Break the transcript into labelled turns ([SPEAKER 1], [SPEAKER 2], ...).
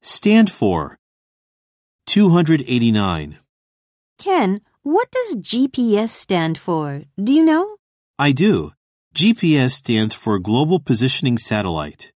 [SPEAKER 1] Stand for 289.
[SPEAKER 2] Ken, what does GPS stand for? Do you know?
[SPEAKER 1] I do. GPS stands for Global Positioning Satellite.